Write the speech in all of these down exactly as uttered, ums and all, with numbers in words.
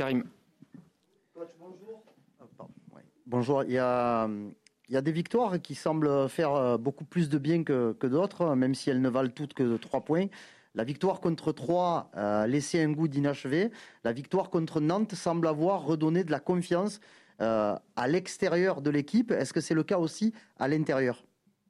Karim. Coach, bonjour. Bonjour, il y a, il y a des victoires qui semblent faire beaucoup plus de bien que, que d'autres, même si elles ne valent toutes que trois points. La victoire contre Troyes a laissé un goût d'inachevé. La victoire contre Nantes semble avoir redonné de la confiance euh, à l'extérieur de l'équipe. Est-ce que c'est le cas aussi à l'intérieur ?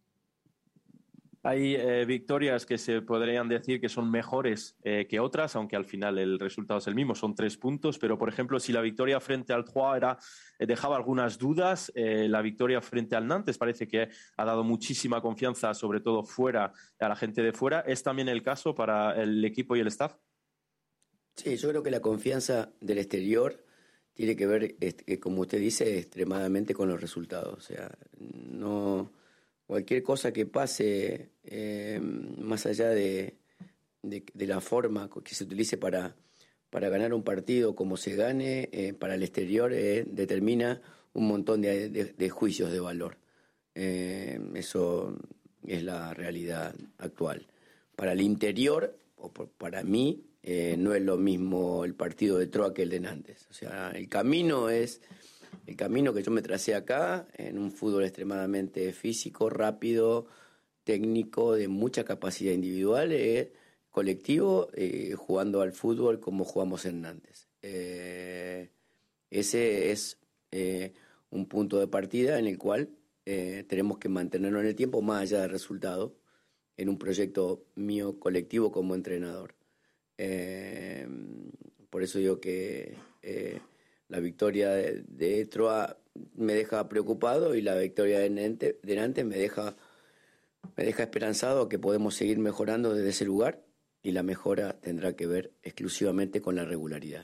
Hay eh, victorias que se podrían decir que son mejores eh, que otras, aunque al final el resultado es el mismo, son tres puntos. Pero, por ejemplo, si la victoria frente al Troyes era, eh, dejaba algunas dudas, eh, la victoria frente al Nantes parece que ha dado muchísima confianza, sobre todo fuera, a la gente de fuera. ¿Es también el caso para el equipo y el staff? Sí, yo creo que la confianza del exterior tiene que ver, este, como usted dice, extremadamente con los resultados. O sea, no... Cualquier cosa que pase eh, más allá de, de, de la forma que se utilice para, para ganar un partido, como se gane, eh, para el exterior eh, determina un montón de, de, de juicios de valor. Eh, eso es la realidad actual. Para el interior, o por, para mí, eh, no es lo mismo el partido de Troyes que el de Nantes. O sea, el camino es... El camino que yo me tracé acá, en un fútbol extremadamente físico, rápido, técnico, de mucha capacidad individual, eh, colectivo, eh, jugando al fútbol como jugamos en Nantes. Eh, ese es eh, un punto de partida en el cual eh, tenemos que mantenerlo en el tiempo, más allá del resultado, en un proyecto mío colectivo como entrenador. Eh, por eso digo que... Eh, La victoria de, de Troyes me deja preocupado y la victoria de Nantes, de Nantes me deja, me deja esperanzado que podemos seguir mejorando desde ese lugar y la mejora tendrá que ver exclusivamente con la regularidad.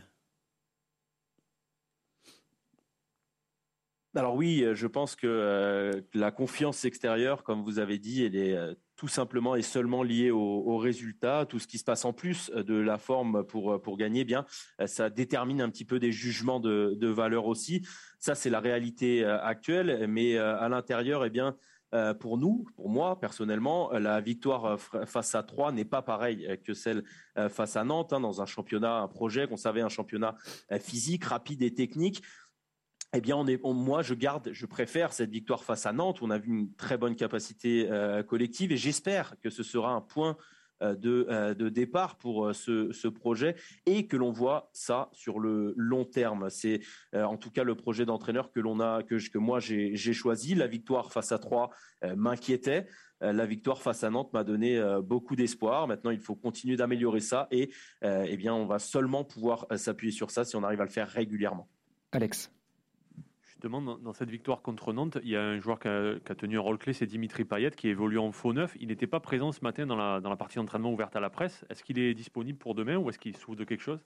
Alors oui, je pense que euh, la confiance extérieure, comme vous avez dit, elle est euh, tout simplement et seulement liée au, au résultat. Tout ce qui se passe en plus de la forme pour, pour gagner, eh bien, ça détermine un petit peu des jugements de, de valeur aussi. Ça, c'est la réalité euh, actuelle. Mais euh, à l'intérieur, eh bien, euh, pour nous, pour moi personnellement, la victoire face à Troyes n'est pas pareille que celle euh, face à Nantes, hein, dans un championnat, un projet qu'on savait, un championnat euh, physique, rapide et technique. Eh bien, on est, on, moi, je garde, je préfère cette victoire face à Nantes. On a vu une très bonne capacité euh, collective et j'espère que ce sera un point euh, de, euh, de départ pour euh, ce, ce projet et que l'on voit ça sur le long terme. C'est euh, en tout cas le projet d'entraîneur que l'on a, que, que moi j'ai, j'ai choisi. La victoire face à Troyes euh, m'inquiétait. Euh, la victoire face à Nantes m'a donné euh, beaucoup d'espoir. Maintenant, il faut continuer d'améliorer ça et euh, eh bien, on va seulement pouvoir euh, s'appuyer sur ça si on arrive à le faire régulièrement. Alex. Justement, dans, dans cette victoire contre Nantes, il y a un joueur qui a, qui a tenu un rôle clé, c'est Dimitri Payet, qui évolue en faux neuf. Il n'était pas présent ce matin dans la, dans la partie d'entraînement ouverte à la presse. Est-ce qu'il est disponible pour demain ou est-ce qu'il souffre de quelque chose?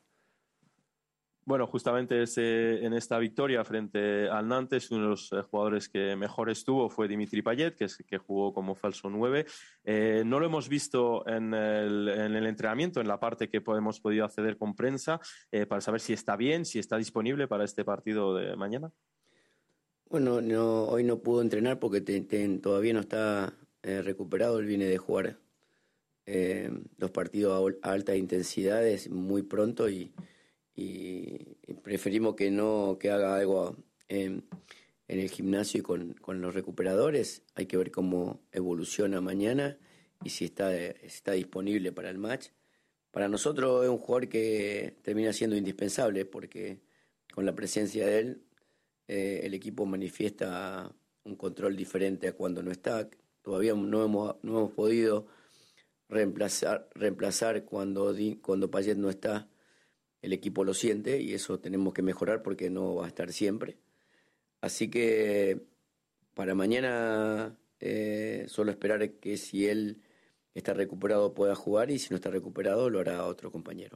Bueno, justamente ese, en esta victoria frente al Nantes, uno de los jugadores que mejor estuvo fue Dimitri Payet, que, es, que jugó como falso nueve. Eh, no lo hemos visto en el, en el entrenamiento, en la parte que hemos podido acceder con prensa, eh, para saber si está bien, si está disponible para este partido de mañana. Bueno, no, hoy no pudo entrenar porque te, te, todavía no está eh, recuperado. Él viene de jugar eh, los partidos a, a altas intensidades muy pronto y, y, y preferimos que no que haga algo en, en el gimnasio y con, con los recuperadores. Hay que ver cómo evoluciona mañana y si está, si está disponible para el match. Para nosotros es un jugador que termina siendo indispensable porque con la presencia de él Eh, el equipo manifiesta un control diferente a cuando no está. Todavía no hemos, no hemos podido reemplazar, reemplazar cuando, cuando Payet no está. El equipo lo siente y eso tenemos que mejorar porque no va a estar siempre. Así que para mañana eh, solo esperar que si él está recuperado pueda jugar y si no está recuperado lo hará otro compañero.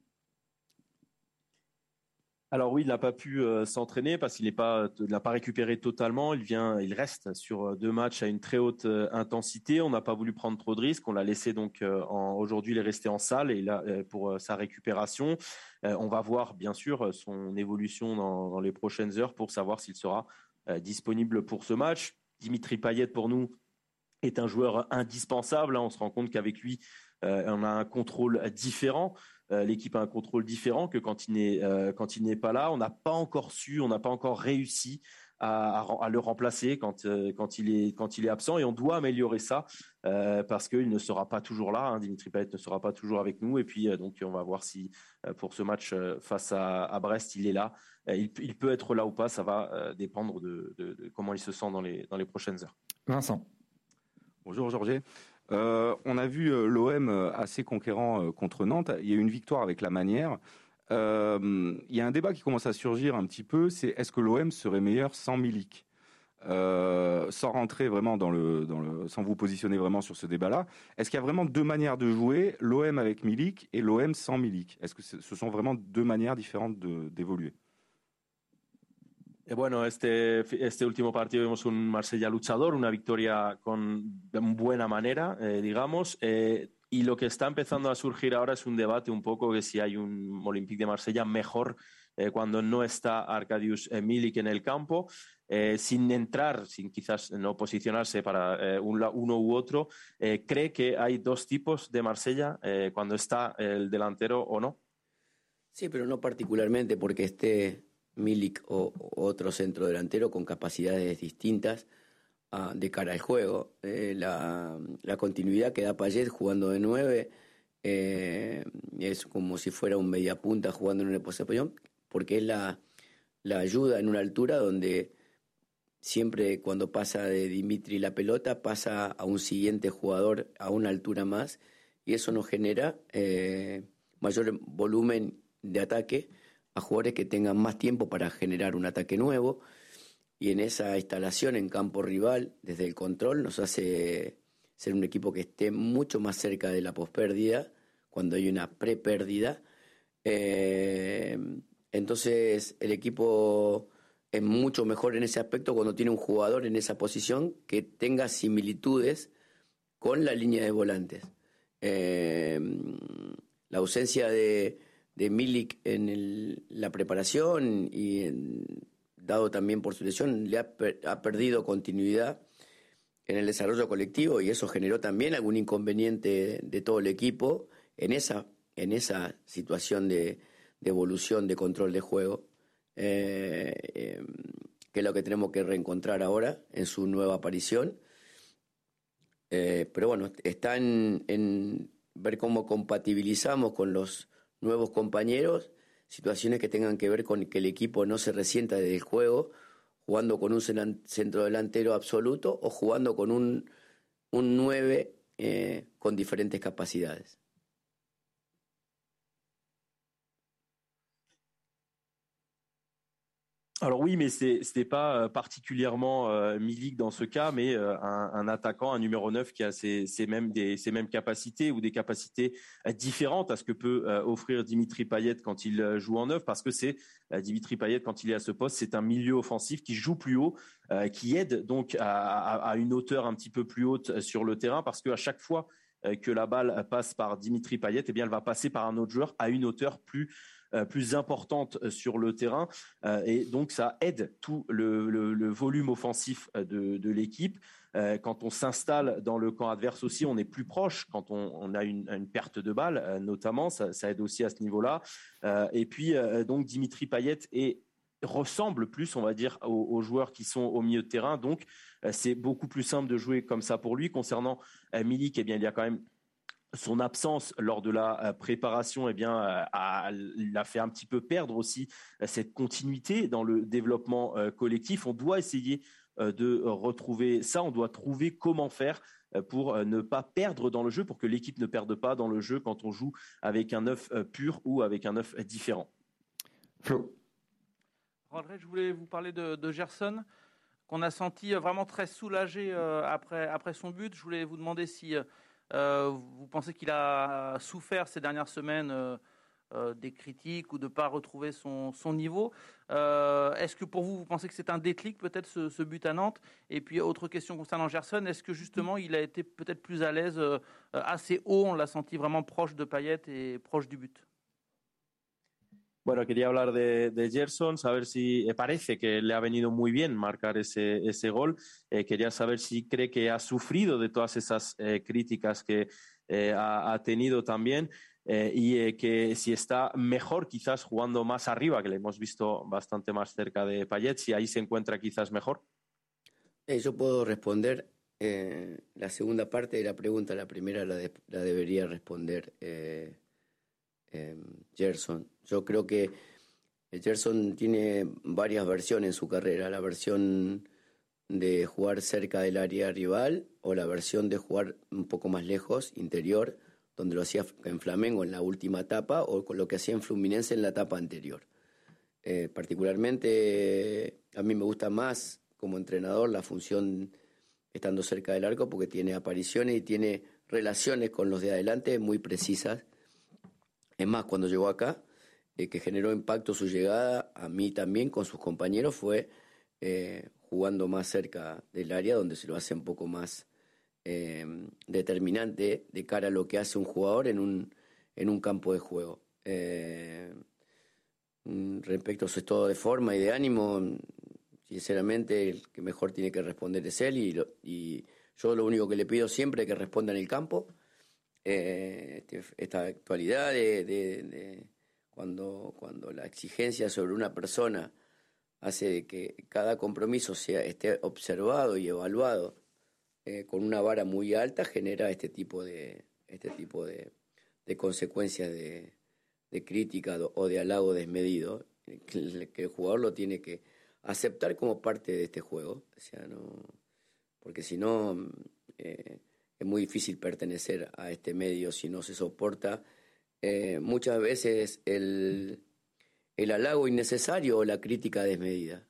Alors oui, il n'a pas pu euh, s'entraîner parce qu'il n'est pas, il n'a pas récupéré totalement. Il vient, il reste sur deux matchs à une très haute euh, intensité. On n'a pas voulu prendre trop de risques. On l'a laissé donc euh, en, aujourd'hui, il est resté en salle et là euh, pour euh, sa récupération. Euh, on va voir bien sûr son évolution dans, dans les prochaines heures pour savoir s'il sera euh, disponible pour ce match. Dimitri Payet pour nous est un joueur indispensable. On se rend compte qu'avec lui, euh, on a un contrôle différent. Euh, l'équipe a un contrôle différent que quand il n'est euh, quand il n'est pas là. On n'a pas encore su, on n'a pas encore réussi à, à, à le remplacer quand euh, quand il est quand il est absent, et on doit améliorer ça euh, parce qu'il ne sera pas toujours là. Hein. Dimitri Payet ne sera pas toujours avec nous, et puis euh, donc on va voir si euh, pour ce match euh, face à, à Brest il est là. Euh, il, il peut être là ou pas, ça va euh, dépendre de, de, de comment il se sent dans les dans les prochaines heures. Vincent. Bonjour Georges. Euh, on a vu euh, l'O M assez conquérant euh, contre Nantes. Il y a eu une victoire avec la manière. Euh, il y a un débat qui commence à surgir un petit peu, c'est est-ce que l'O M serait meilleur sans Milik euh, Sans rentrer vraiment dans le, dans le, sans vous positionner vraiment sur ce débat-là, est-ce qu'il y a vraiment deux manières de jouer, l'O M avec Milik et l'O M sans Milik? Est-ce que ce sont vraiment deux manières différentes de, d'évoluer? Bueno, este, este último partido vimos un Marsella luchador, una victoria con buena manera, eh, digamos, eh, y lo que está empezando a surgir ahora es un debate un poco que si hay un Olympique de Marsella mejor eh, cuando no está Arkadiusz eh, Milik en el campo, eh, sin entrar, sin quizás no posicionarse para eh, un, uno u otro, eh, ¿cree que hay dos tipos de Marsella eh, cuando está el delantero o no? Sí, pero no particularmente porque esté Milik o, o otro centro delantero con capacidades distintas uh, de cara al juego. Eh, la, la continuidad que da Payet jugando de nueve eh, es como si fuera un mediapunta jugando en una posición, porque es la, la ayuda en una altura donde siempre cuando pasa de Dimitri la pelota pasa a un siguiente jugador a una altura más, y eso nos genera eh, mayor volumen de ataque a jugadores que tengan más tiempo para generar un ataque nuevo, y en esa instalación en campo rival, desde el control, nos hace ser un equipo que esté mucho más cerca de la pospérdida, cuando hay una prepérdida. Eh, entonces el equipo es mucho mejor en ese aspecto cuando tiene un jugador en esa posición que tenga similitudes con la línea de volantes. Eh, la ausencia de de Milik en el, la preparación y en, dado también por su lesión, le ha, per, ha perdido continuidad en el desarrollo colectivo, y eso generó también algún inconveniente de todo el equipo en esa, en esa situación de, de evolución, de control de juego, eh, eh, que es lo que tenemos que reencontrar ahora en su nueva aparición. Eh, pero bueno, está en, en ver cómo compatibilizamos con los nuevos compañeros, situaciones que tengan que ver con que el equipo no se resienta del juego, jugando con un centro delantero absoluto o jugando con un, un nueve eh, con diferentes capacidades. Alors oui, mais c'est c'était pas particulièrement euh, Milik dans ce cas, mais euh, un, un attaquant, un numéro neuf qui a ces, ces mêmes des ces mêmes capacités ou des capacités euh, différentes à ce que peut euh, offrir Dimitri Payet quand il euh, joue en neuf, parce que c'est euh, Dimitri Payet quand il est à ce poste, c'est un milieu offensif qui joue plus haut, euh, qui aide donc à, à, à une hauteur un petit peu plus haute sur le terrain, parce que à chaque fois euh, que la balle passe par Dimitri Payet, eh bien elle va passer par un autre joueur à une hauteur plus Euh, plus importante sur le terrain, euh, et donc ça aide tout le, le, le volume offensif de, de l'équipe. Euh, quand on s'installe dans le camp adverse aussi, on est plus proche quand on, on a une, une perte de balle, euh, notamment, ça, ça aide aussi à ce niveau-là. Euh, et puis euh, donc Dimitri Payet est ressemble plus, on va dire, aux, aux joueurs qui sont au milieu de terrain, donc euh, c'est beaucoup plus simple de jouer comme ça pour lui. Concernant euh, Milik, eh bien il y a quand même son absence lors de la préparation, eh bien, a, l'a fait un petit peu perdre aussi cette continuité dans le développement collectif. On doit essayer de retrouver ça. On doit trouver comment faire pour ne pas perdre dans le jeu, pour que l'équipe ne perde pas dans le jeu quand on joue avec un neuf pur ou avec un neuf différent. Flo. André, je voulais vous parler de, de Gerson, qu'on a senti vraiment très soulagé après, après son but. Je voulais vous demander si Euh, vous pensez qu'il a souffert ces dernières semaines euh, euh, des critiques ou de ne pas retrouver son, son niveau. Euh, est-ce que pour vous, vous pensez que c'est un déclic peut-être ce, ce but à Nantes? Et puis autre question concernant Gerson, est-ce que justement il a été peut-être plus à l'aise euh, assez haut, on l'a senti vraiment proche de Payet et proche du but? Bueno, quería hablar de, de Gerson, saber si eh, parece que le ha venido muy bien marcar ese, ese gol. Eh, quería saber si cree que ha sufrido de todas esas eh, críticas que eh, ha, ha tenido también eh, y eh, que si está mejor quizás jugando más arriba, que le hemos visto bastante más cerca de Payet, si ahí se encuentra quizás mejor. Eh, yo puedo responder eh, la segunda parte de la pregunta, la primera la, de- la debería responder eh, eh, Gerson. Yo creo que Gerson tiene varias versiones en su carrera, la versión de jugar cerca del área rival o la versión de jugar un poco más lejos, interior, donde lo hacía en Flamengo en la última etapa o con lo que hacía en Fluminense en la etapa anterior. Eh, particularmente a mí me gusta más como entrenador la función estando cerca del arco porque tiene apariciones y tiene relaciones con los de adelante muy precisas. Es más, cuando llegó acá, eh, que generó impacto su llegada, a mí también con sus compañeros, fue eh, jugando más cerca del área, donde se lo hace un poco más eh, determinante de cara a lo que hace un jugador en un, en un campo de juego. Eh, respecto a su estado de forma y de ánimo, sinceramente el que mejor tiene que responder es él y, lo, y yo lo único que le pido siempre es que responda en el campo. Eh, este, esta actualidad de, de, de cuando, cuando la exigencia sobre una persona hace de que cada compromiso sea, esté observado y evaluado eh, con una vara muy alta, genera este tipo de, este tipo de, de consecuencias de, de crítica o de halago desmedido, que el, que el jugador lo tiene que aceptar como parte de este juego, o sea, no, porque si no eh, es muy difícil pertenecer a este medio si no se soporta eh, muchas veces el, el halago innecesario o la crítica desmedida.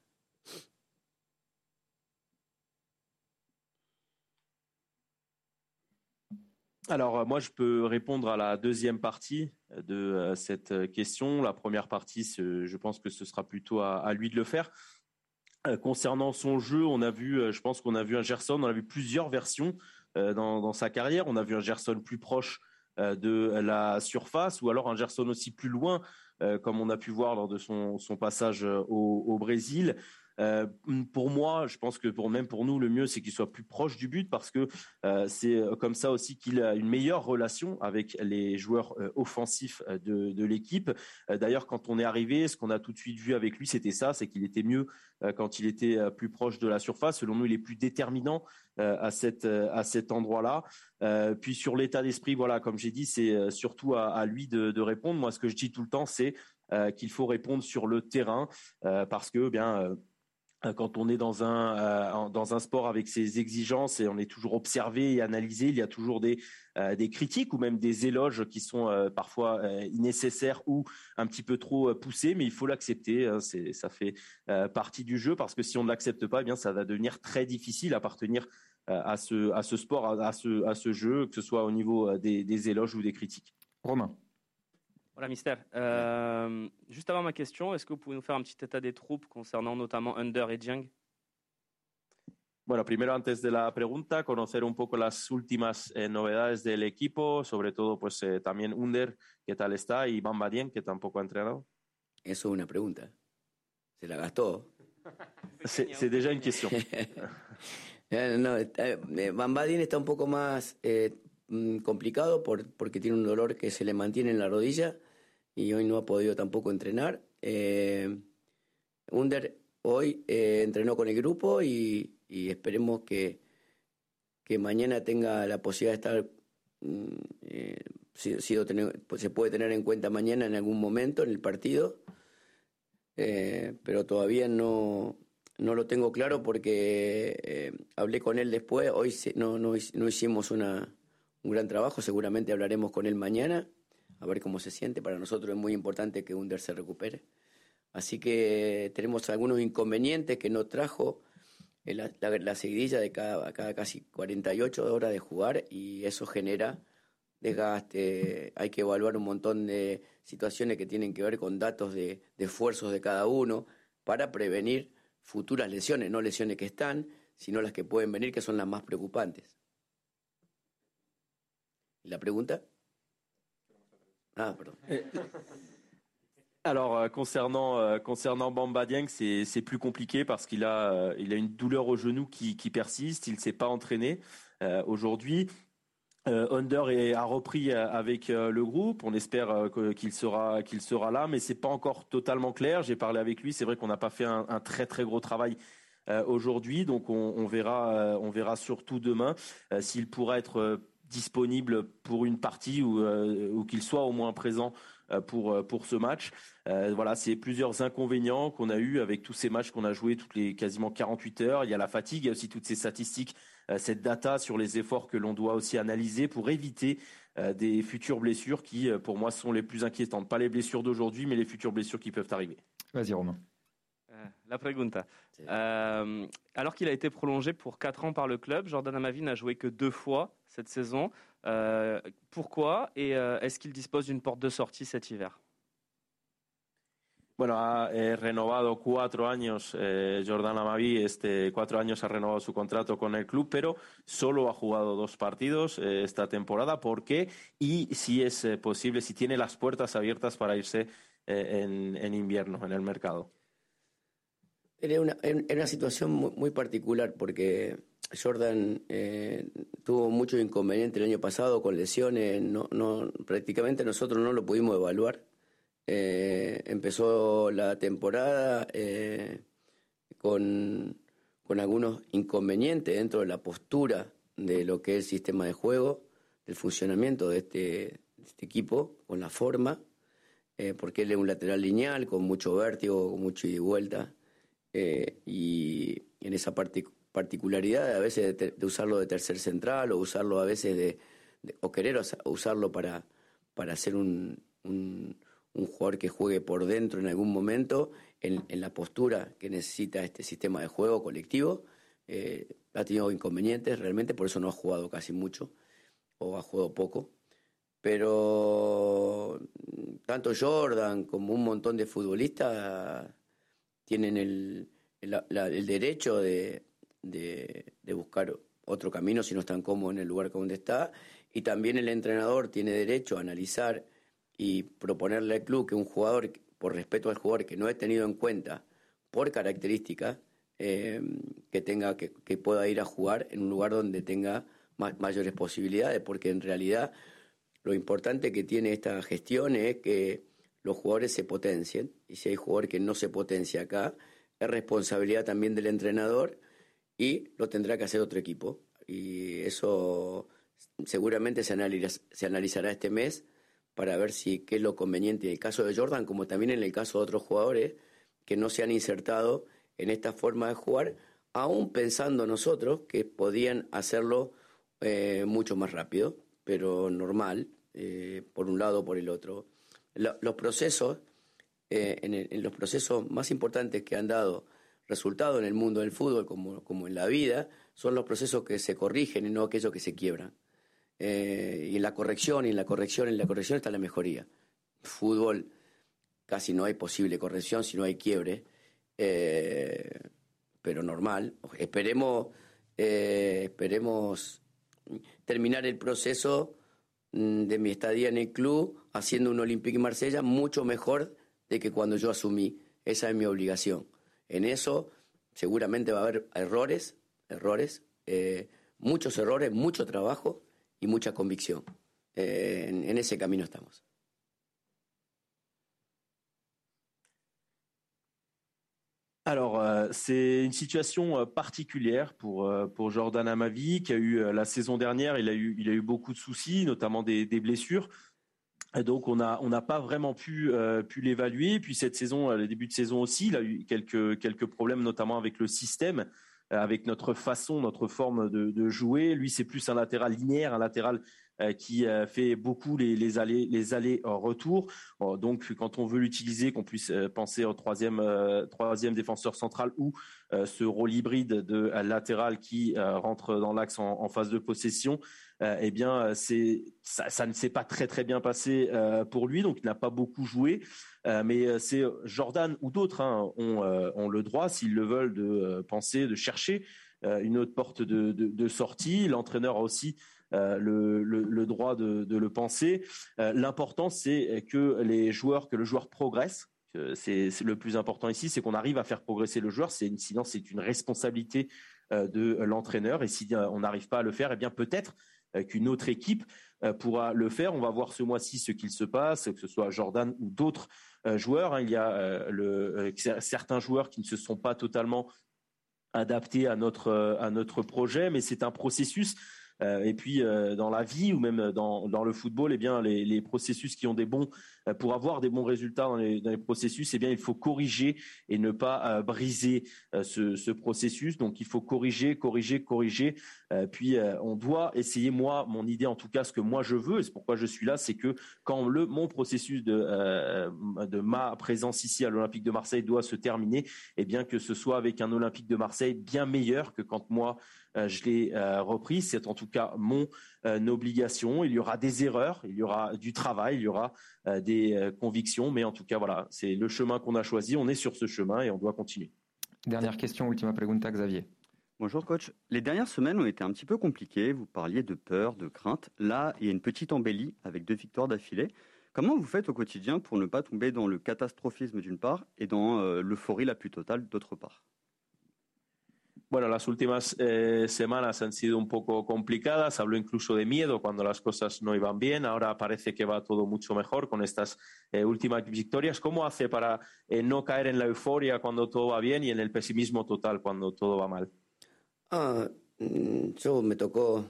Alors, moi, je peux répondre à la deuxième partie de cette question. La première partie, je pense que ce sera plutôt à, à lui de le faire. Euh, concernant son jeu, on a vu, euh, je pense qu'on a vu un Gerson, on a vu plusieurs versions euh, dans, dans sa carrière. On a vu un Gerson plus proche euh, de la surface ou alors un Gerson aussi plus loin, euh, comme on a pu voir lors de son, son passage au, au Brésil. Euh, pour moi, je pense que pour même pour nous, le mieux, c'est qu'il soit plus proche du but parce que euh, c'est comme ça aussi qu'il a une meilleure relation avec les joueurs euh, offensifs de, de l'équipe. Euh, d'ailleurs, quand on est arrivé, ce qu'on a tout de suite vu avec lui, c'était ça, c'est qu'il était mieux euh, quand il était euh, plus proche de la surface. Selon nous, il est plus déterminant euh, à, cette, euh, à cet endroit-là. Euh, puis sur l'état d'esprit, voilà, comme j'ai dit, c'est euh, surtout à, à lui de, de répondre. Moi, ce que je dis tout le temps, c'est euh, qu'il faut répondre sur le terrain euh, parce que, bien... Euh, quand on est dans un euh, dans un sport avec ses exigences et on est toujours observé et analysé, il y a toujours des euh, des critiques ou même des éloges qui sont euh, parfois euh, nécessaires ou un petit peu trop euh, poussés, mais il faut l'accepter. Hein, c'est ça fait euh, partie du jeu parce que si on ne l'accepte pas, eh bien ça va devenir très difficile à appartenir euh, à ce à ce sport, à, à ce à ce jeu, que ce soit au niveau des, des éloges ou des critiques. Romain. Voilà, Mister. Euh, juste avant ma question, est-ce que vous pouvez nous faire un petit état des troupes concernant notamment Under et Dieng? Bueno, primero antes de la pregunta, conocer un poco las últimas eh, novedades del equipo, sobre todo pues eh, también Under, qué tal está, y Bamba Dieng, que tampoco ha entrenado. Eso es una pregunta. Se la gastó. C'est déjà une question. no, está, Bamba Dieng está un poco más eh, complicado por, porque tiene un dolor que se le mantiene en la rodilla y hoy no ha podido tampoco entrenar. Eh, Under hoy eh, entrenó con el grupo y, y esperemos que, que mañana tenga la posibilidad de estar, eh, sido tener, pues se puede tener en cuenta mañana en algún momento en el partido, eh, pero todavía no, no lo tengo claro porque eh, hablé con él después, hoy no, no, no hicimos una, un gran trabajo, seguramente hablaremos con él mañana, a ver cómo se siente. Para nosotros es muy importante que Under se recupere. Así que tenemos algunos inconvenientes que no trajo la, la, la seguidilla de cada, cada casi cuarenta y ocho horas de jugar y eso genera desgaste. Hay que evaluar un montón de situaciones que tienen que ver con datos de, de esfuerzos de cada uno para prevenir futuras lesiones, no lesiones que están, sino las que pueden venir, que son las más preocupantes. ¿La pregunta? Ah, perdón. Eh, Alors euh, concernant euh, concernant Bamba Dieng, c'est c'est plus compliqué parce qu'il a euh, il a une douleur au genou qui qui persiste. Il s'est pas entraîné euh, aujourd'hui. Euh, Under est, a repris euh, avec euh, le groupe. On espère euh, que- qu'il sera qu'il sera là, mais c'est pas encore totalement clair. J'ai parlé avec lui. C'est vrai qu'on n'a pas fait un, un très très gros travail euh, aujourd'hui, donc on, on verra euh, on verra surtout demain euh, s'il pourra être euh, disponible pour une partie ou euh, ou qu'il soit au moins présent euh, pour euh, pour ce match. Euh, voilà, c'est plusieurs inconvénients qu'on a eu avec tous ces matchs qu'on a joués toutes les quasiment quarante-huit heures. Il y a la fatigue, il y a aussi toutes ces statistiques, euh, cette data sur les efforts que l'on doit aussi analyser pour éviter euh, des futures blessures qui, euh, pour moi, sont les plus inquiétantes. Pas les blessures d'aujourd'hui, mais les futures blessures qui peuvent arriver. Vas-y, Romain. Euh, La pregunta. Euh, alors qu'il a été prolongé pour quatre ans par le club, Jordan Amavi n'a joué que deux fois cette saison. Euh, pourquoi et euh, est-ce qu'il dispose d'une porte de sortie cet hiver? Bueno, ha eh, renovado cuatro años eh, Jordan Amavi, este, cuatro años ha renovado su contrato con el club, pero solo ha jugado dos partidos eh, esta temporada. ¿Por qué? Y si es eh, posible, si tiene las puertas abiertas para irse eh, en, en invierno, en el mercado. Era una, era una situación muy, muy particular porque Jordan eh, tuvo muchos inconvenientes el año pasado con lesiones, no, no, prácticamente nosotros no lo pudimos evaluar. Eh, empezó la temporada eh, con, con algunos inconvenientes dentro de la postura de lo que es el sistema de juego, del funcionamiento de este, de este equipo, con la forma, eh, porque él es un lateral lineal, con mucho vértigo, con mucho ida y vuelta, eh, y en esa parte, particularidad a veces de, ter, de usarlo de tercer central o usarlo a veces de, de o querer usarlo para, para hacer un... un un jugador que juegue por dentro en algún momento, en, en la postura que necesita este sistema de juego colectivo. Eh, ha tenido inconvenientes realmente, por eso no ha jugado casi mucho, o ha jugado poco. Pero tanto Jordan como un montón de futbolistas tienen el, el, la, el derecho de, de, de buscar otro camino si no están cómodos en el lugar donde está, y también el entrenador tiene derecho a analizar y proponerle al club que un jugador, por respeto al jugador que no he tenido en cuenta por características, eh, que tenga que, que pueda ir a jugar en un lugar donde tenga ma- mayores posibilidades, porque en realidad lo importante que tiene esta gestión es que los jugadores se potencien, y si hay jugador que no se potencia acá, es responsabilidad también del entrenador y lo tendrá que hacer otro equipo, y eso seguramente se, analiz- se analizará este mes para ver si qué es lo conveniente en el caso de Jordan, como también en el caso de otros jugadores que no se han insertado en esta forma de jugar, aún pensando nosotros que podían hacerlo eh, mucho más rápido, pero normal, eh, por un lado o por el otro. La, los procesos, eh, en, el, en los procesos más importantes que han dado resultado en el mundo del fútbol, como, como en la vida, son los procesos que se corrigen y no aquellos que se quiebran. Eh, y en la corrección, y en la corrección, en la corrección está la mejoría. Fútbol, casi no hay posible corrección si no hay quiebre, eh, pero normal. Esperemos, eh, esperemos terminar el proceso de mi estadía en el club haciendo un Olympique Marsella mucho mejor de que cuando yo asumí. Esa es mi obligación. En eso seguramente va a haber errores, errores, eh, muchos errores, mucho trabajo y mucha convicción. Eh, en, en ese camino estamos. Alors, euh, c'est une situation euh, particulière pour euh, pour Jordan Amavi qui a eu euh, la saison dernière, il a eu il a eu beaucoup de soucis, notamment des, des blessures. Et donc on a on n'a pas vraiment pu euh, pu l'évaluer. Puis cette saison, euh, le début de saison aussi, il a eu quelques quelques problèmes, notamment avec le système, euh, avec notre façon, notre forme de, de jouer. Lui, c'est plus un latéral linéaire, un latéral euh, qui euh, fait beaucoup les les allées les allées en retour. Bon, donc quand on veut l'utiliser, qu'on puisse euh, penser au troisième euh, troisième défenseur central ou euh, ce rôle hybride de euh, latéral qui euh, rentre dans l'axe en, en phase de possession. Euh, eh bien, c'est ça, ça ne s'est pas très très bien passé euh, pour lui, donc il n'a pas beaucoup joué. Euh, mais c'est Jordan ou d'autres hein, ont, euh, ont le droit, s'ils le veulent, de euh, penser, de chercher euh, une autre porte de, de, de sortie. L'entraîneur a aussi euh, le, le, le droit de, de le penser. Euh, l'important, c'est que les joueurs, que le joueur progresse. C'est, c'est le plus important ici, c'est qu'on arrive à faire progresser le joueur. C'est une, sinon, c'est une responsabilité euh, de l'entraîneur. Et si euh, on n'arrive pas à le faire, eh bien peut-être euh, qu'une autre équipe euh, pourra le faire. On va voir ce mois-ci ce qu'il se passe, que ce soit Jordan ou d'autres euh, joueurs. Hein. Il y a euh, le, euh, certains joueurs qui ne se sont pas totalement adaptés à notre à notre projet, mais c'est un processus. Euh, et puis euh, dans la vie ou même dans dans le football, eh bien les les processus qui ont des bons euh, pour avoir des bons résultats dans les dans les processus, eh bien il faut corriger et ne pas euh, briser euh, ce ce processus. Donc il faut corriger, corriger, corriger. Euh, puis euh, on doit essayer. Moi, mon idée en tout cas, ce que moi je veux, et c'est pourquoi je suis là, c'est que quand le mon processus de euh, de ma présence ici à l'Olympique de Marseille doit se terminer, eh bien que ce soit avec un Olympique de Marseille bien meilleur que quand moi Euh, je l'ai euh, repris. C'est en tout cas mon euh, obligation. Il y aura des erreurs, il y aura du travail, il y aura euh, des euh, convictions, mais en tout cas, voilà, c'est le chemin qu'on a choisi. On est sur ce chemin et on doit continuer. Dernière question, ultima pregunta, Xavier. Bonjour coach. Les dernières semaines ont été un petit peu compliquées. Vous parliez de peur, de crainte. Là, il y a une petite embellie avec deux victoires d'affilée. Comment vous faites au quotidien pour ne pas tomber dans le catastrophisme d'une part et dans euh, l'euphorie la plus totale d'autre part? Bueno, las últimas eh, semanas han sido un poco complicadas. Habló incluso de miedo cuando las cosas no iban bien. Ahora parece que va todo mucho mejor con estas eh, últimas victorias. ¿Cómo hace para eh, no caer en la euforia cuando todo va bien y en el pesimismo total cuando todo va mal? Ah, yo me tocó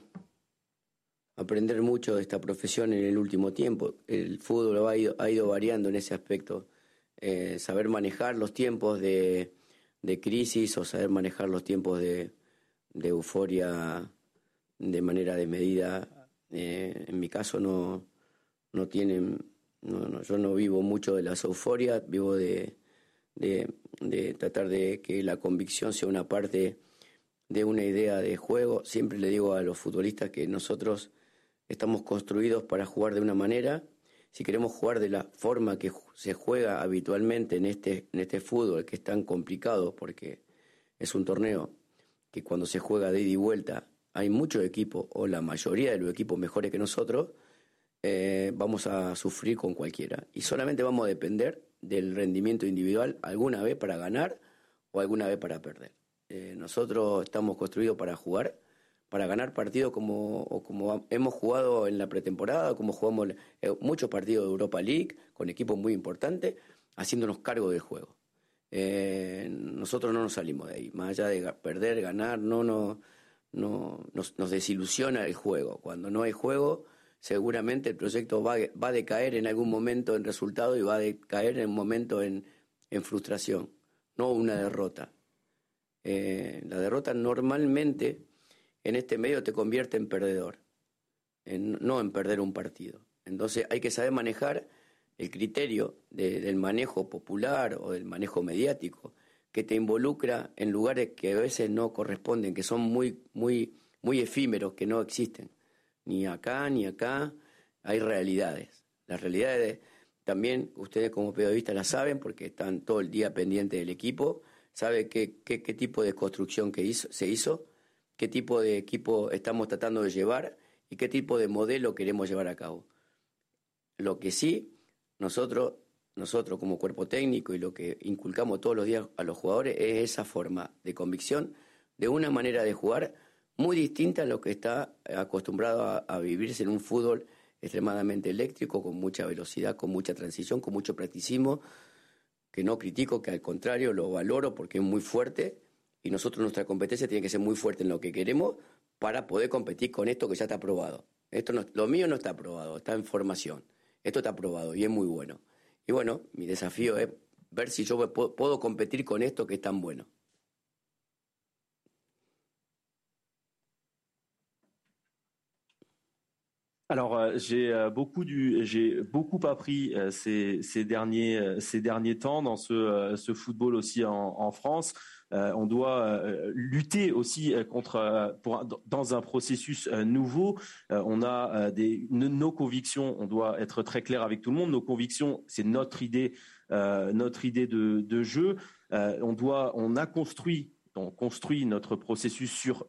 aprender mucho de esta profesión en el último tiempo. El fútbol ha ido, ha ido variando en ese aspecto. Eh, saber manejar los tiempos de... de crisis o saber manejar los tiempos de, de euforia de manera desmedida. Eh, en mi caso no, no tienen, no, no, yo no vivo mucho de las euforias, vivo de, de, de tratar de que la convicción sea una parte de una idea de juego. Siempre le digo a los futbolistas que nosotros estamos construidos para jugar de una manera. Si queremos jugar de la forma que se juega habitualmente en este, en este fútbol, que es tan complicado porque es un torneo que cuando se juega de ida y vuelta hay muchos equipos, o la mayoría de los equipos mejores que nosotros, eh, vamos a sufrir con cualquiera. Y solamente vamos a depender del rendimiento individual alguna vez para ganar o alguna vez para perder. Eh, nosotros estamos construidos para jugar, para ganar partidos como, o como hemos jugado en la pretemporada, como jugamos eh, muchos partidos de Europa League, con equipos muy importantes, haciéndonos cargo del juego. Eh, nosotros no nos salimos de ahí, más allá de perder, ganar, no, no, no nos, nos desilusiona el juego. Cuando no hay juego, seguramente el proyecto va, va a decaer en algún momento en resultado y va a decaer en un momento en, en frustración, no una derrota. Eh, la derrota normalmente en este medio te convierte en perdedor, en, no en perder un partido. Entonces hay que saber manejar el criterio de, del manejo popular o del manejo mediático que te involucra en lugares que a veces no corresponden, que son muy, muy, muy efímeros, que no existen. Ni acá, ni acá, hay realidades. Las realidades también ustedes como periodistas las saben porque están todo el día pendientes del equipo, saben qué, qué, qué tipo de construcción que hizo, se hizo, qué tipo de equipo estamos tratando de llevar y qué tipo de modelo queremos llevar a cabo. Lo que sí, nosotros, nosotros como cuerpo técnico y lo que inculcamos todos los días a los jugadores es esa forma de convicción, de una manera de jugar muy distinta a lo que está acostumbrado a, a vivirse en un fútbol extremadamente eléctrico, con mucha velocidad, con mucha transición, con mucho practicismo, que no critico, que al contrario lo valoro porque es muy fuerte. Y nosotros, nuestra competencia tiene que ser muy fuerte en lo que queremos para poder competir con esto que ya está aprobado. Esto no, lo mío no está aprobado, está en formación. Esto está aprobado y es muy bueno. Y bueno, mi desafío es ver si yo puedo, puedo competir con esto que es tan bueno. Alors euh, j'ai euh, beaucoup du, j'ai beaucoup appris euh, ces, ces derniers, euh, ces derniers temps dans ce, euh, ce football aussi en, en France. Euh, on doit euh, lutter aussi contre, euh, pour, dans un processus euh, nouveau. Euh, on a euh, des, nos convictions. On doit être très clair avec tout le monde. Nos convictions, c'est notre idée, euh, notre idée de, de jeu. Euh, on doit, on a construit, on construit notre processus sur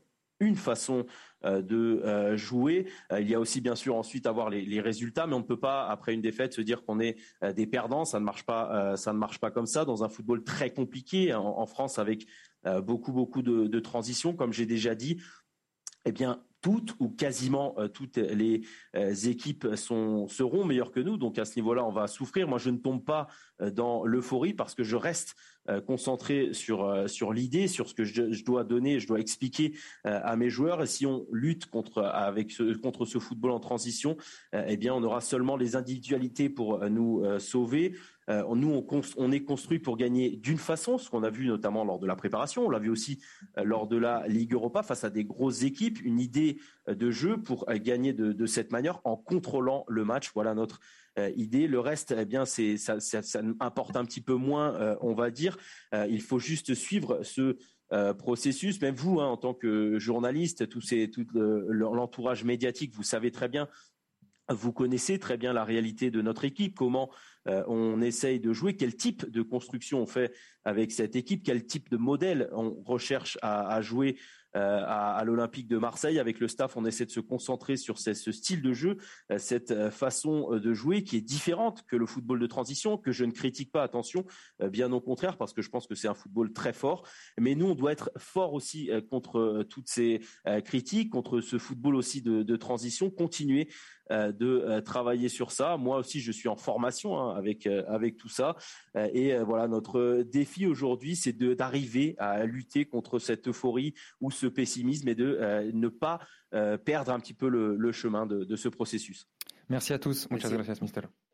une façon euh, de euh, jouer. Euh, il y a aussi bien sûr ensuite avoir les, les résultats, mais on ne peut pas après une défaite se dire qu'on est euh, des perdants. Ça ne marche pas, euh, ça ne marche pas comme ça dans un football très compliqué en, en France avec euh, beaucoup beaucoup de, de transitions, comme j'ai déjà dit. Eh bien, toutes ou quasiment euh, toutes les euh, équipes sont, seront meilleures que nous. Donc à ce niveau-là, on va souffrir. Moi, je ne tombe pas euh, dans l'euphorie parce que je reste euh, concentré sur euh, sur l'idée, sur ce que je, je dois donner, je dois expliquer euh, à mes joueurs. Et si on lutte contre avec ce, contre ce football en transition, euh, eh bien, on aura seulement les individualités pour euh, nous euh, sauver. Euh, nous, on, on est construit pour gagner d'une façon, ce qu'on a vu notamment lors de la préparation. On l'a vu aussi euh, lors de la Ligue Europa face à des grosses équipes. Une idée euh, de jeu pour euh, gagner de, de cette manière en contrôlant le match. Voilà notre euh, idée. Le reste, eh bien, c'est ça, ça, ça importe un petit peu moins, euh, on va dire. Euh, il faut juste suivre ce Euh, processus. Même vous, hein, en tant que journaliste, tous ces, tout le, l'entourage médiatique, vous savez très bien, vous connaissez très bien la réalité de notre équipe, comment euh, on essaye de jouer, quel type de construction on fait avec cette équipe, quel type de modèle on recherche à, à jouer euh, à, à l'Olympique de Marseille. Avec le staff, on essaie de se concentrer sur ce, ce style de jeu, euh, cette façon de jouer qui est différente que le football de transition, que je ne critique pas, attention, euh, bien au contraire, parce que je pense que c'est un football très fort. Mais nous, on doit être fort aussi euh, contre euh, toutes ces euh, critiques, contre ce football aussi de, de transition, continuer euh, de euh, travailler sur ça. Moi aussi, je suis en formation hein, avec euh, avec tout ça. Euh, et euh, voilà, notre défi aujourd'hui, c'est de d'arriver à lutter contre cette euphorie ou ce pessimisme et de euh, ne pas euh, perdre un petit peu le, le chemin de, de ce processus. Merci à tous. Muchas Merci. gracias, mister.